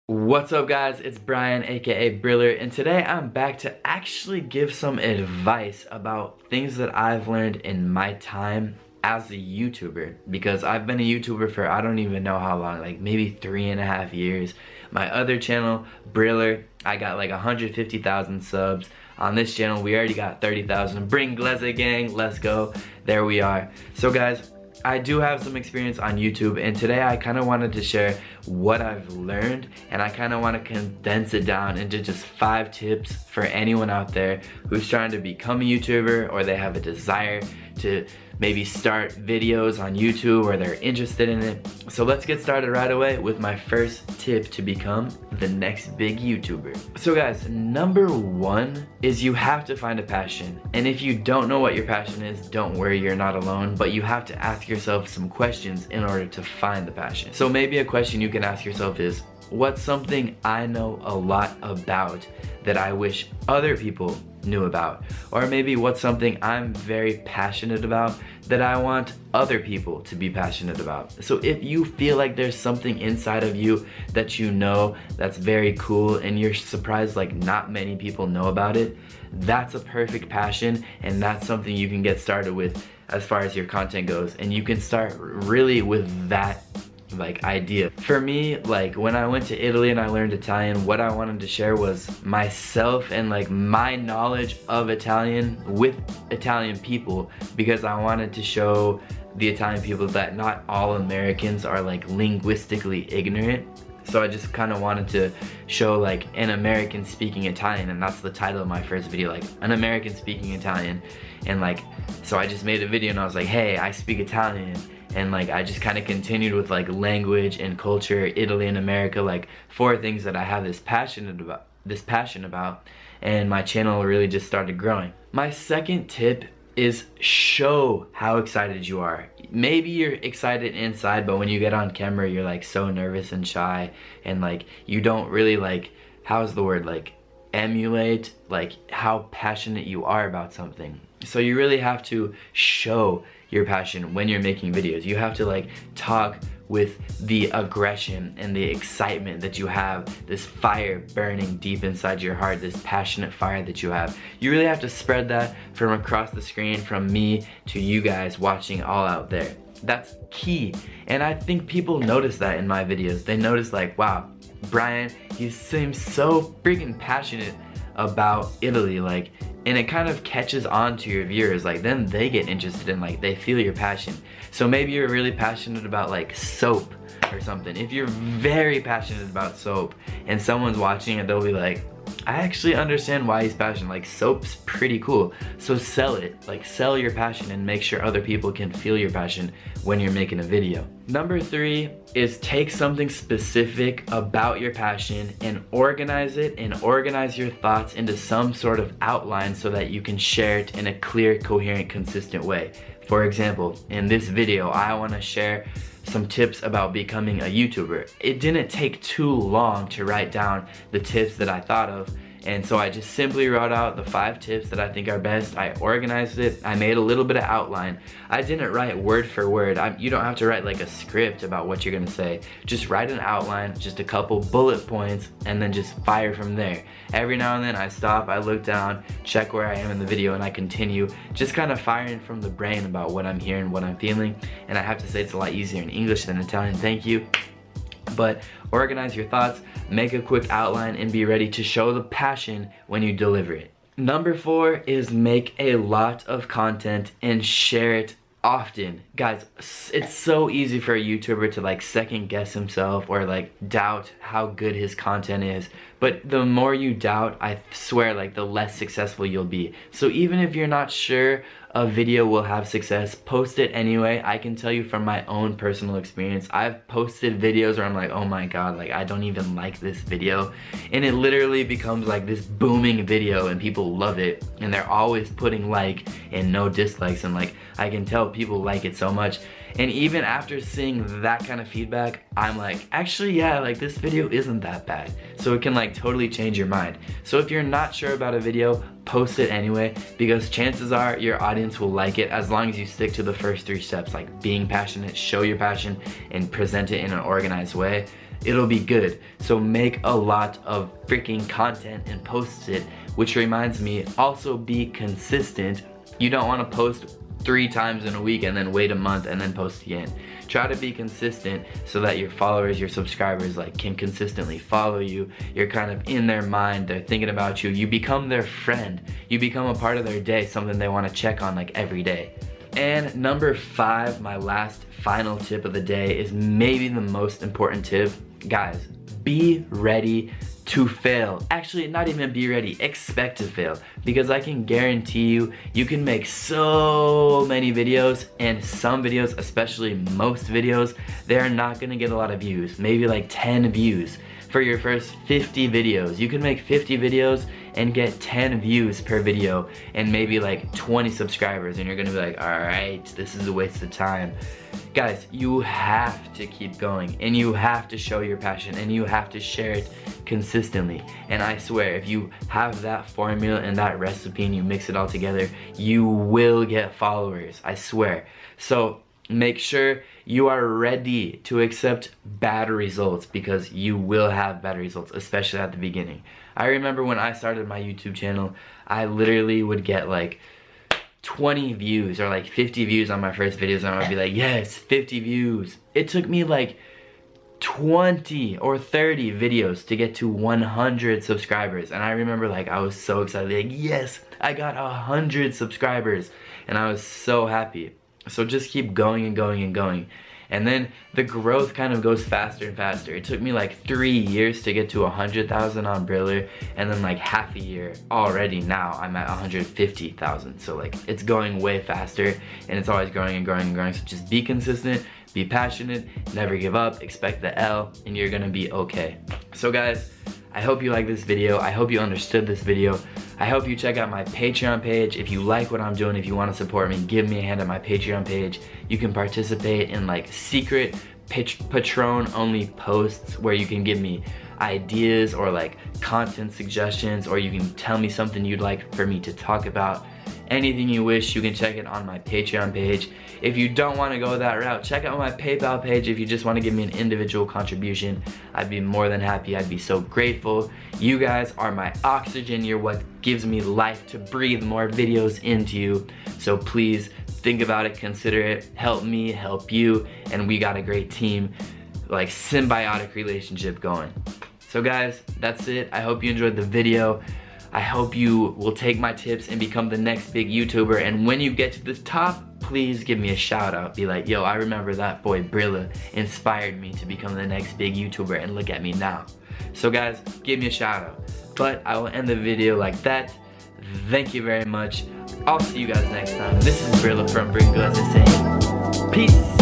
What's up guys, it's Brian aka Briller, and today I'm back to actually give some advice about things that I've learned in my time as a YouTuber, because I've been a YouTuber for I don't even know how long, like maybe 3.5 years. My other channel, Briller, I got like 150,000 subs. On this channel we already got 30,000. Bring Gleze gang, let's go. There we are. So guys, I do have some experience on YouTube, and today I kind of wanted to share what I've learned, and I kind of want to condense it down into just 5 tips for anyone out there who's trying to become a YouTuber, or they have a desire to maybe start videos on YouTube, or they're interested in it. So let's get started right away with my first tip to become the next big YouTuber. So guys, number 1 is you have to find a passion. And if you don't know what your passion is, don't worry, you're not alone, but you have to ask yourself some questions in order to find the passion. So maybe a question you can ask yourself is, what's something I know a lot about that I wish other people knew about? Or maybe what's something I'm very passionate about that I want other people to be passionate about? So if you feel like there's something inside of you that you know that's very cool and you're surprised like not many people know about it, that's a perfect passion, and that's something you can get started with as far as your content goes, and you can start really with that like idea. For me, like when I went to Italy and I learned Italian, what I wanted to share was myself and like my knowledge of Italian with Italian people, because I wanted to show the Italian people that not all Americans are like linguistically ignorant. So I just kind of wanted to show like an American speaking Italian, and that's the title of my first video, like an American speaking Italian. And like, so I just made a video and I was like, hey, I speak Italian. And like I just kind of continued with like language and culture, Italy and America, like 4 things that I have this passion about, and my channel really just started growing. My second tip is show how excited you are. Maybe you're excited inside, but when you get on camera you're like so nervous and shy, and like you don't really like, how's the word, like emulate like how passionate you are about something. So you really have to show your passion when you're making videos. You have to like talk with the aggression and the excitement that you have, this fire burning deep inside your heart, this passionate fire that you have. You really have to spread that from across the screen, from me to you guys watching all out there. That's key, and I think people notice that in my videos. They notice like, wow, Brian, he seems so freaking passionate about Italy, like, and it kind of catches on to your viewers. Like then they get interested in, like, they feel your passion. So maybe you're really passionate about like soap or something. If you're very passionate about soap and someone's watching it, they'll be like, I actually understand why he's passionate, like soap's pretty cool. So sell it, like sell your passion and make sure other people can feel your passion when you're making a video. Number 3 is take something specific about your passion and organize it, and organize your thoughts into some sort of outline so that you can share it in a clear, coherent, consistent way. For example, in this video, I want to share some tips about becoming a YouTuber. It didn't take too long to write down the tips that I thought of, and so I just simply wrote out the 5 tips that I think are best. I organized it, I made a little bit of outline. I didn't write word for word. You don't have to write like a script about what you're gonna say. Just write an outline, just a couple bullet points, and then just fire from there. Every now and then I stop, I look down, check where I am in the video, and I continue, just kind of firing from the brain about what I'm hearing, what I'm feeling. And I have to say it's a lot easier in English than Italian, thank you. But organize your thoughts, make a quick outline, and be ready to show the passion when you deliver it. Number 4 is make a lot of content and share it often. Guys, it's so easy for a YouTuber to like second guess himself or like doubt how good his content is. But the more you doubt, I swear, like the less successful you'll be. So even if you're not sure a video will have success, post it anyway. I can tell you from my own personal experience, I've posted videos where I'm like, oh my god, like I don't even like this video, and it literally becomes like this booming video and people love it, and they're always putting like and no dislikes, and like I can tell people like it so much. And even after seeing that kind of feedback, I'm like, actually, yeah, like this video isn't that bad. So it can like totally change your mind. So if you're not sure about a video, post it anyway, because chances are your audience will like it as long as you stick to the first 3 steps, like being passionate, show your passion, and present it in an organized way. it'll be good. So make a lot of freaking content and post it, which reminds me, also be consistent. You don't want to post 3 times in a week and then wait a month and then post again. Try to be consistent so that your followers, your subscribers like can consistently follow you. You're kind of in their mind, they're thinking about you. You become their friend. You become a part of their day, something they want to check on like every day. And number 5, my last final tip of the day, is maybe the most important tip. Guys, be ready to fail. Actually, not even be ready, expect to fail. Because I can guarantee you, you can make so many videos, and some videos, especially most videos, they're not gonna get a lot of views. Maybe like 10 views. For your first 50 videos. You can make 50 videos and get 10 views per video and maybe like 20 subscribers, and you're gonna be like, alright, this is a waste of time. Guys, you have to keep going, and you have to show your passion, and you have to share it consistently. And I swear, if you have that formula and that recipe and you mix it all together, you will get followers, I swear. So make sure you are ready to accept bad results, because you will have bad results, especially at the beginning. I remember when I started my YouTube channel, I literally would get like 20 views or like 50 views on my first videos, and I would be like, yes, 50 views. It took me like 20 or 30 videos to get to 100 subscribers, and I remember like I was so excited, like, yes, I got 100 subscribers, and I was so happy. So just keep going and going and going. And then the growth kind of goes faster and faster. It took me like 3 years to get to 100,000 on Briller, and then like half a year already now I'm at 150,000. So like it's going way faster, and it's always growing and growing and growing. So just be consistent, be passionate, never give up, expect the L, and you're gonna be okay. So guys, I hope you like this video. I hope you understood this video. I hope you check out my Patreon page. If you like what I'm doing, if you want to support me, give me a hand at my Patreon page. You can participate in like secret Patron only posts where you can give me ideas or like content suggestions, or you can tell me something you'd like for me to talk about. Anything you wish, you can check it on my Patreon page. If you don't want to go that route, check out my PayPal page. If you just want to give me an individual contribution, I'd be more than happy. I'd be so grateful. You guys are my oxygen. You're what gives me life to breathe more videos into you. So please think about it, consider it, help me, help you, and we got a great team, like symbiotic relationship going. So guys, that's it. I hope you enjoyed the video. I hope you will take my tips and become the next big YouTuber, and when you get to the top, please give me a shout out. Be like, yo, I remember that boy Brilla inspired me to become the next big YouTuber, and look at me now. So guys, give me a shout out. But I will end the video like that. Thank you very much. I'll see you guys next time. This is Brilla from Bringo saying, peace.